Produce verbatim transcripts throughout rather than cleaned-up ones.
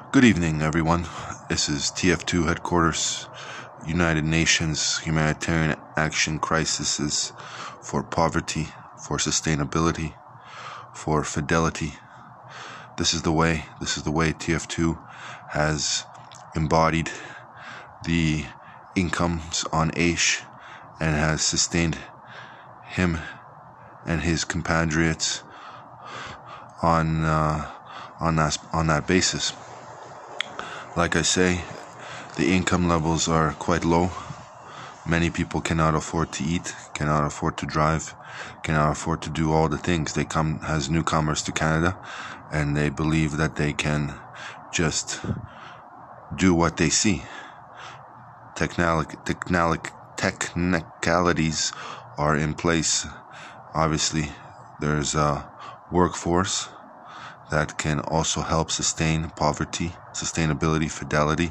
Good evening, everyone. This is T F two Headquarters, United Nations Humanitarian Action Crises for Poverty, for Sustainability, for Fidelity. This is the way, this is the way T F two has embodied the incomes on Aish and has sustained him and his compatriots on uh, on that on that basis. Like I say, the income levels are quite low. Many people cannot afford to eat, cannot afford to drive, cannot afford to do all the things. They come as newcomers to Canada, and they believe that they can just do what they see. Technalic, technalic, technicalities are in place. Obviously, there's a workforce that can also help sustain poverty, sustainability, fidelity.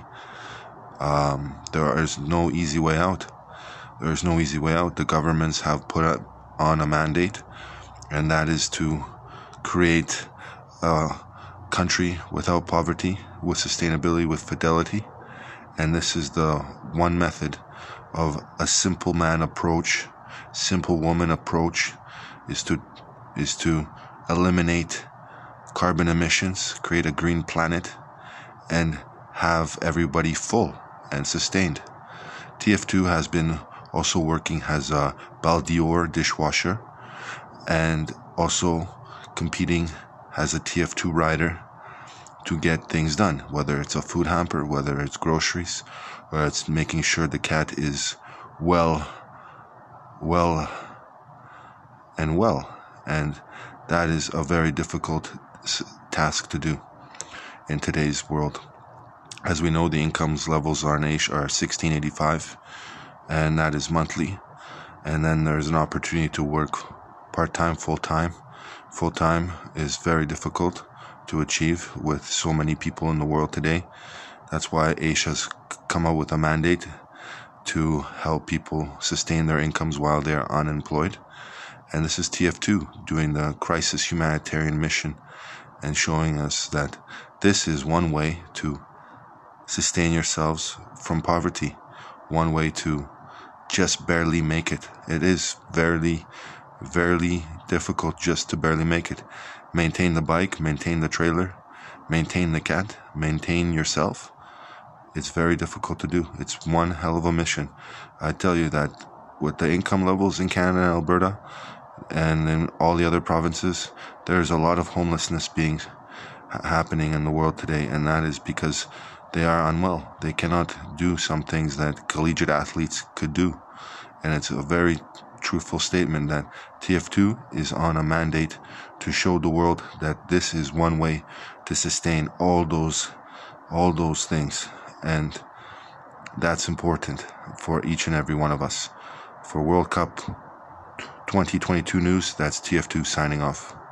Um, there is no easy way out. There is no easy way out. The governments have put on a mandate, and that is to create a country without poverty, with sustainability, with fidelity. And this is the one method of a simple man approach, simple woman approach, is to is to eliminate carbon emissions, create a green planet, and have everybody full and sustained. T F two has been also working as a Baldior dishwasher and also competing as a T F two rider to get things done, whether it's a food hamper, whether it's groceries, or it's making sure the cat is well, well, and well. And that is a very difficult task to do in today's world. As we know, the incomes levels on Aish are sixteen eighty-five, and that is monthly. And then there's an opportunity to work part-time, full-time. Full-time is very difficult to achieve with so many people in the world today. That's why Aish has come up with a mandate to help people sustain their incomes while they're unemployed. And this is T F two doing the crisis humanitarian mission and showing us that this is one way to sustain yourselves from poverty, one way to just barely make it. It is very, very difficult just to barely make it. Maintain the bike, maintain the trailer, maintain the cat, maintain yourself. It's very difficult to do. It's one hell of a mission. I tell you that with the income levels in Canada and Alberta, and in all the other provinces, there's a lot of homelessness being ha- happening in the world today, and that is because they are unwell. They cannot do some things that collegiate athletes could do, and it's a very truthful statement that T F two is on a mandate to show the world that this is one way to sustain all those, all those things, and that's important for each and every one of us. For World Cup twenty twenty-two news, that's T F two signing off.